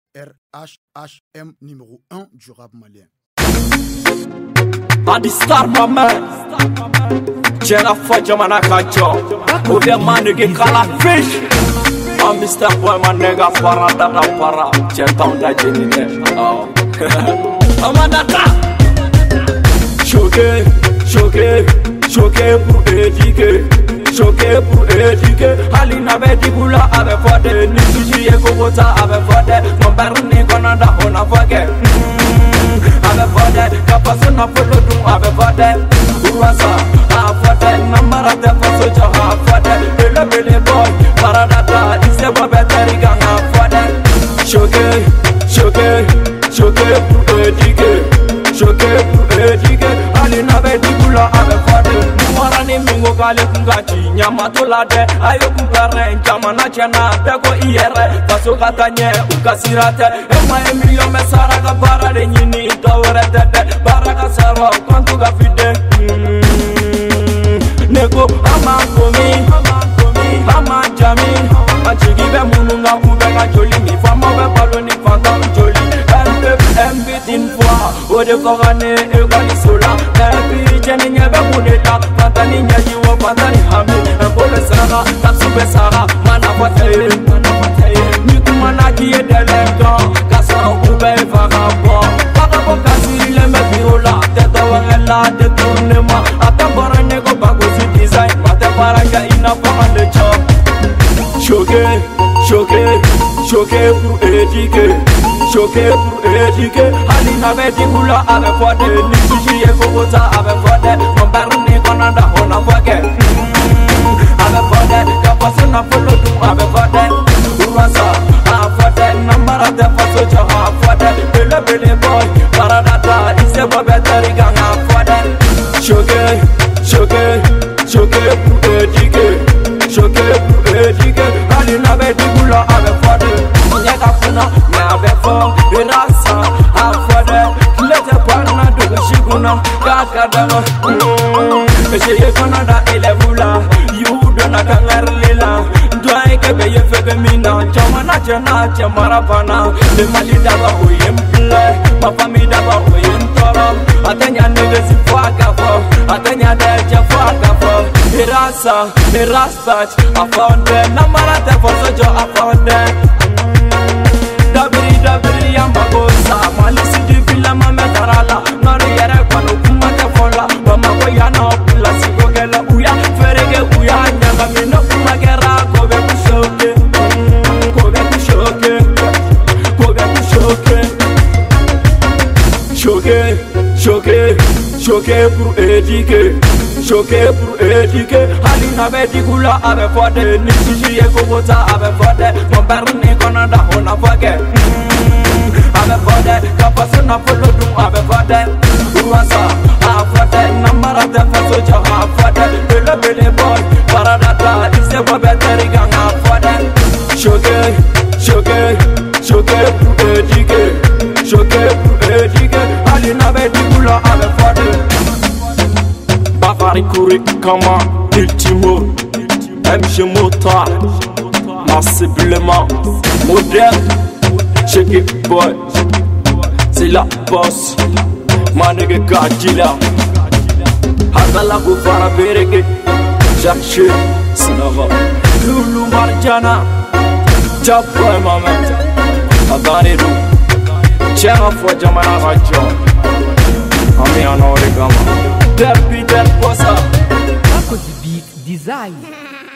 RHHM numéro 1 du rap malien. Adistar mama Jera Faja Manakajo Ode manege kala fish I'm Mr. Boy my nigga para dada para Jentown da jenine Amanata Choqué, choqué, choqué pour éduquer Choqué pour éduquer Halina bedi bula ave fode Nisuji eko bota ave fode Mon berni konanda ona fage Ave fode Kapasuna folo dum ave fode Urwasa a fode Namara te faso jo a fode Bele bele boy Paradata Ise bobe terigang a fode Choqué, choqué, choqué pour éduquer Choqué pour éduquer Halina bedi bula ave fode Warani mingo kale kungachi Nyama tolade Ayo kumpere Njamana chena Bego iyere Faso katanye Ukasirate Ema emilio mesara Kabara de nyini Dawere tete Baraka sero Kwantuga fide Nego Ama komi Ama jami Achigibe mununga Ubega joli Mi fama be paloni Fanta joli Mbitin fois Ode korane Egwani sola Epi jeni nyebe muneta Fantani nyajiwo Fantani hami Mpole sara Taksube sara Mana fataye Nikumana kiye delengan Kasa ube vagabond Vagabo kasi leme birola Tete wangela Detournema Atambara nego bagosi design Mate paranga ina fangale job Choqué, choqué, choqué pour éduquer Choqué pour éduquer Halina bedi bula ave fode Nisuji eko bota ave fode Mon berni konanda ona fage Ave fode Kapasuna folo dum ave fode Urwasa a fode Namara te faso jo a fode Bele bele boy Paradata Ise bobe terigang a fode Choqué, choqué, choqué pour éduquer Choqué pour éduquer Halina bedi bula ave fode Onyeka funa me ave fo Irasa a fode Lete parna dugu shiguna Kakadama Esheye konada ele bula Yudo na kangarlila Dwae kebe ye febe mina Chamana chena chemarapana Le mali daba uye mple Mafami daba uye ntoro Atenya nege si fwaka fo Atenya deje fwaka fo Irasa, irasbach Afonde, namara te foso jo afonde Dabiri yambagosa Malisi di vila mame tarala Nori yere kwano kumate fola Bamako yana opula sigogela uya Ferege uya nyaga mino kumagera Kobe kushoke Kobe kushoke Kobe kushoke Choqué, choqué, choqué pour éduquer Choqué pour éduquer Halina bedi gula ave fode Nisuji eko bota ave fode Mon berni konanda ona fage Ave fode Kapasuna folo dum ave fode Urwasa a fode Namara te faso jo a fode Bele bele boy Paradata Ise bobe terigang a fode Choqué, choqué, choqué pour éduquer Choqué pour éduquer Halina bedi gula ave fode Bakari Kouri Kama Ultimo MG Motar Massiblement Moderne Check it boy C'est la boss Manege Kajila Hadala Guvara Berege Jacques Sinava Lulu Marjana Jabboy Maman Adani Ru Jera Faja Manakajo Ami Anore Gama Depi Del Bossa Paco de Beat Design.